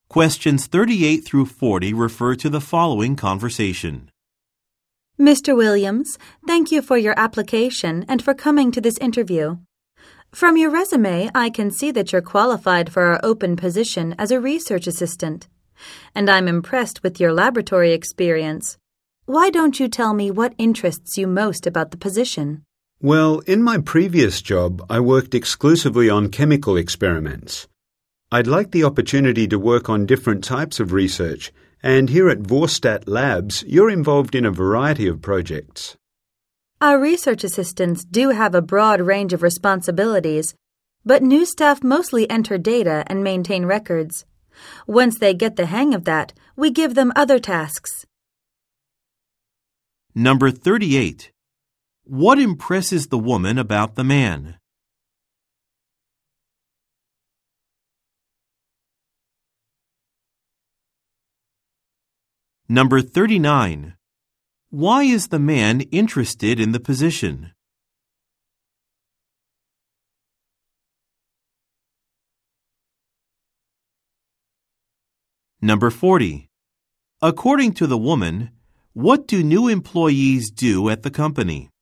Questions 38 through 40 refer to the following conversation. Mr. Williams, thank you for your application and for coming to this interview. From your resume, I can see that you're qualified for our open position as a research assistant, and I'm impressed with your laboratory experience. Why don't you tell me what interests you most about the position? Well, in my previous job, I worked exclusively on chemical experiments. I'd like the opportunity to work on different types of research, and here at Vorstat Labs, you're involved in a variety of projects. Our research assistants do have a broad range of responsibilities, but new staff mostly enter data and maintain records. Once they get the hang of that, we give them other tasks. Number 38. What impresses the woman about the man? Number 39. Why is the man interested in the position? Number 40. According to the woman, what do new employees do at the company?